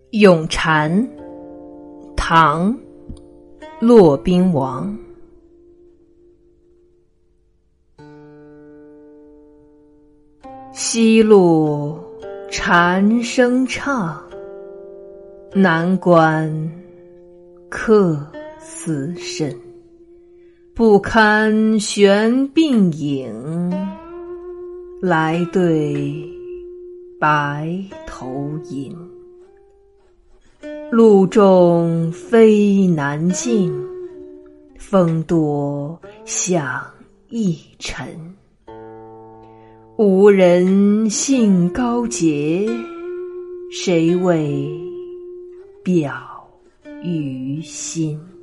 咏蝉，唐·骆宾王。西路蝉声唱，南关客死甚。不堪悬鬓影，来对白头吟。路重飞难进，风多响易沉。无人兴高洁，谁为表于心？